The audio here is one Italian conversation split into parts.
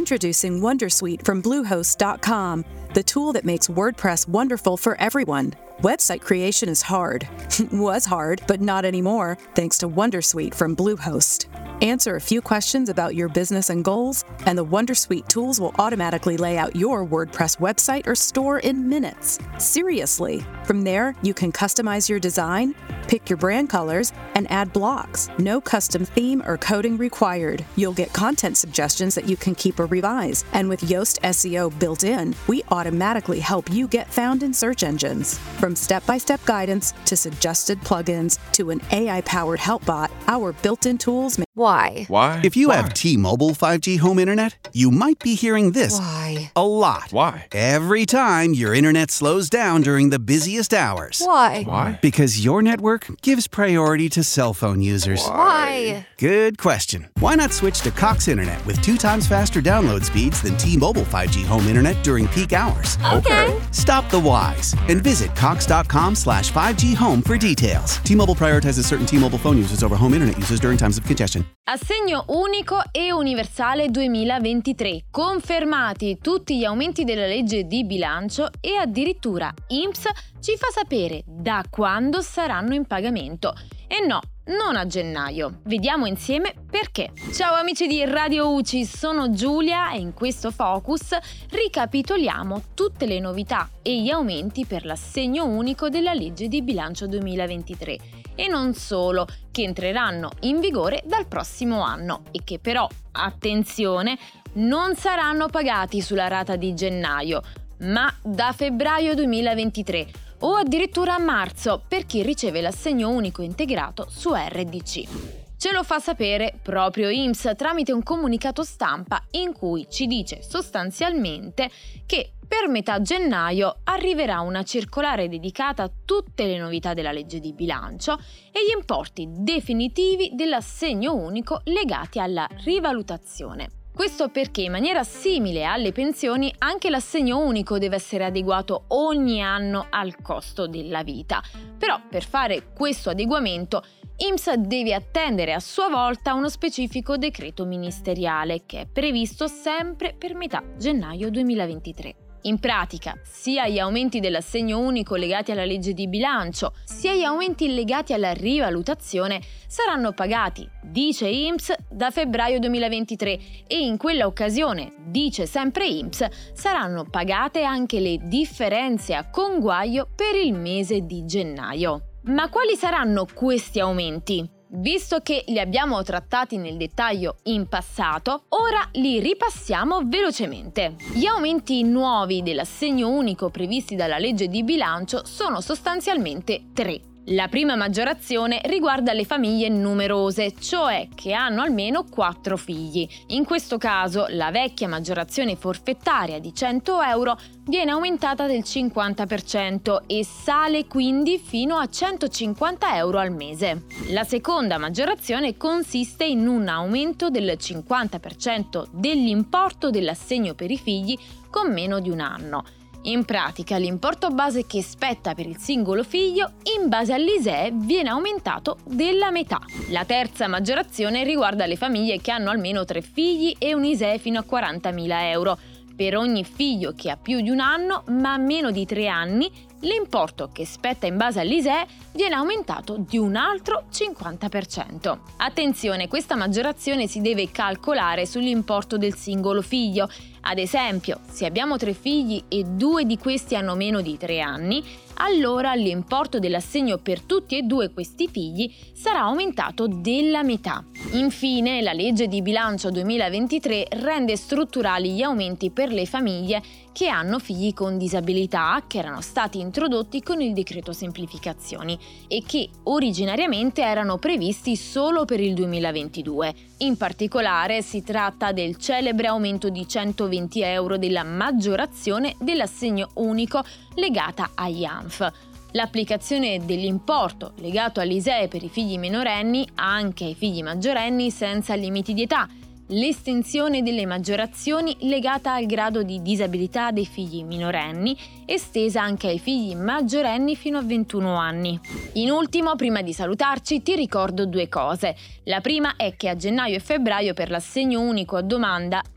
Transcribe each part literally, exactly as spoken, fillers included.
Introducing Wondersuite from Bluehost dot com, the tool that makes WordPress wonderful for everyone. Website creation is hard. Was hard, but not anymore, thanks to Wondersuite from Bluehost. Answer a few questions about your business and goals, and the Wondersuite tools will automatically lay out your WordPress website or store in minutes. Seriously. From there, you can customize your design, pick your brand colors, and add blocks. No custom theme or coding required. You'll get content suggestions that you can keep or revise. And with Yoast S E O built in, we automatically help you get found in search engines. From step-by-step guidance to suggested plugins to an A I-powered help bot, our built-in tools make... Why? Why? If you Why? have T-Mobile five G home internet, you might be hearing this Why? a lot. Why? Every time your internet slows down during the busiest hours. Why? Why? Because your network gives priority to cell phone users. Why? Good question. Why not switch to Cox Internet with two times faster download speeds than T-Mobile five G home internet during peak hours? Okay. Stop the whys and visit cox.com slash 5G home for details. T-Mobile prioritizes certain T-Mobile phone users over home internet users during times of congestion. Assegno unico e universale duemilaventitré. Confermati tutti gli aumenti della legge di bilancio e addirittura I N P S ci fa sapere da quando saranno in pagamento. E no, non a gennaio. Vediamo insieme perché. Ciao amici di Radio U C I, sono Giulia e in questo Focus ricapitoliamo tutte le novità e gli aumenti per l'assegno unico della legge di bilancio duemilaventitré. E non solo, che entreranno in vigore dal prossimo anno e che però, attenzione, non saranno pagati sulla rata di gennaio, ma da febbraio duemilaventitré o addirittura a marzo per chi riceve l'assegno unico integrato su R D C. Ce lo fa sapere proprio I N P S tramite un comunicato stampa in cui ci dice sostanzialmente che per metà gennaio arriverà una circolare dedicata a tutte le novità della legge di bilancio e gli importi definitivi dell'assegno unico legati alla rivalutazione. Questo perché in maniera simile alle pensioni anche l'assegno unico deve essere adeguato ogni anno al costo della vita. Però per fare questo adeguamento I N P S deve attendere a sua volta uno specifico decreto ministeriale che è previsto sempre per metà gennaio duemilaventitré. In pratica, sia gli aumenti dell'assegno unico legati alla legge di bilancio, sia gli aumenti legati alla rivalutazione saranno pagati, dice I N P S, da febbraio duemilaventitré e in quella occasione, dice sempre I N P S, saranno pagate anche le differenze a conguaglio per il mese di gennaio. Ma quali saranno questi aumenti? Visto che li abbiamo trattati nel dettaglio in passato, ora li ripassiamo velocemente. Gli aumenti nuovi dell'assegno unico previsti dalla legge di bilancio sono sostanzialmente tre. La prima maggiorazione riguarda le famiglie numerose, cioè che hanno almeno quattro figli. In questo caso la vecchia maggiorazione forfettaria di cento euro viene aumentata del cinquanta per cento e sale quindi fino a centocinquanta euro al mese. La seconda maggiorazione consiste in un aumento del cinquanta per cento dell'importo dell'assegno per i figli con meno di un anno. In pratica, l'importo base che spetta per il singolo figlio, in base all'I S E E, viene aumentato della metà. La terza maggiorazione riguarda le famiglie che hanno almeno tre figli e un I S E E fino a quarantamila euro. Per ogni figlio che ha più di un anno, ma meno di tre anni, l'importo che spetta in base all'I S E E viene aumentato di un altro cinquanta per cento. Attenzione, questa maggiorazione si deve calcolare sull'importo del singolo figlio. Ad esempio, se abbiamo tre figli e due di questi hanno meno di tre anni, allora l'importo dell'assegno per tutti e due questi figli sarà aumentato della metà. Infine, la legge di bilancio duemilaventitré rende strutturali gli aumenti per le famiglie che hanno figli con disabilità, che erano stati introdotti con il decreto semplificazioni e che originariamente erano previsti solo per il duemilaventidue. In particolare si tratta del celebre aumento di centoventi euro della maggiorazione dell'assegno unico legata agli A N F. L'applicazione dell'importo legato all'I S E E per i figli minorenni anche ai figli maggiorenni senza limiti di età, l'estensione delle maggiorazioni legata al grado di disabilità dei figli minorenni, estesa anche ai figli maggiorenni fino a ventuno anni. In ultimo, prima di salutarci, ti ricordo due cose. La prima è che a gennaio e febbraio per l'assegno unico a domanda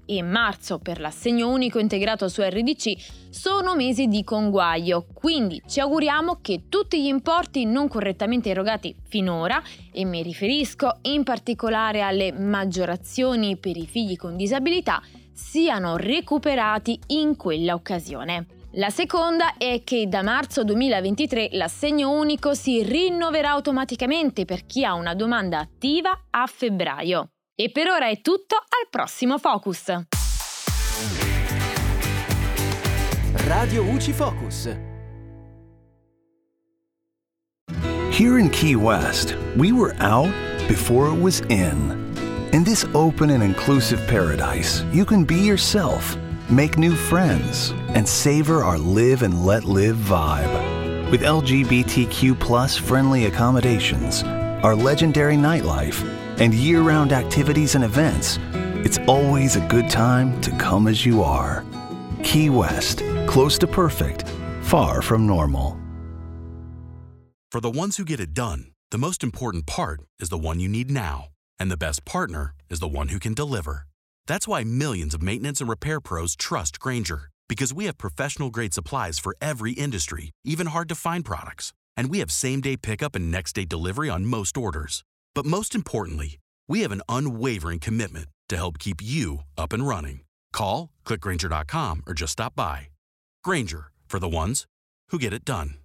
e marzo per l'assegno unico integrato su R D C sono mesi di conguaglio, quindi ci auguriamo che tutti gli importi non correttamente erogati finora, e mi riferisco in particolare alle maggiorazioni per i figli con disabilità, siano recuperati in quella occasione. La seconda è che da marzo duemilaventitré l'assegno unico si rinnoverà automaticamente per chi ha una domanda attiva a febbraio. E per ora è tutto, al prossimo Focus! Radio U C I Focus. Here in Key West, we were out before it was in. In this open and inclusive paradise, you can be yourself, make new friends, and savor our live and let live vibe. With L G B T Q plus friendly accommodations, our legendary nightlife, and year-round activities and events, it's always a good time to come as you are. Key West, close to perfect, far from normal. For the ones who get it done, the most important part is the one you need now. And the best partner is the one who can deliver. That's why millions of maintenance and repair pros trust Grainger, because we have professional-grade supplies for every industry, even hard-to-find products. And we have same-day pickup and next-day delivery on most orders. But most importantly, we have an unwavering commitment to help keep you up and running. Call, click Grainger dot com, or just stop by. Grainger, for the ones who get it done.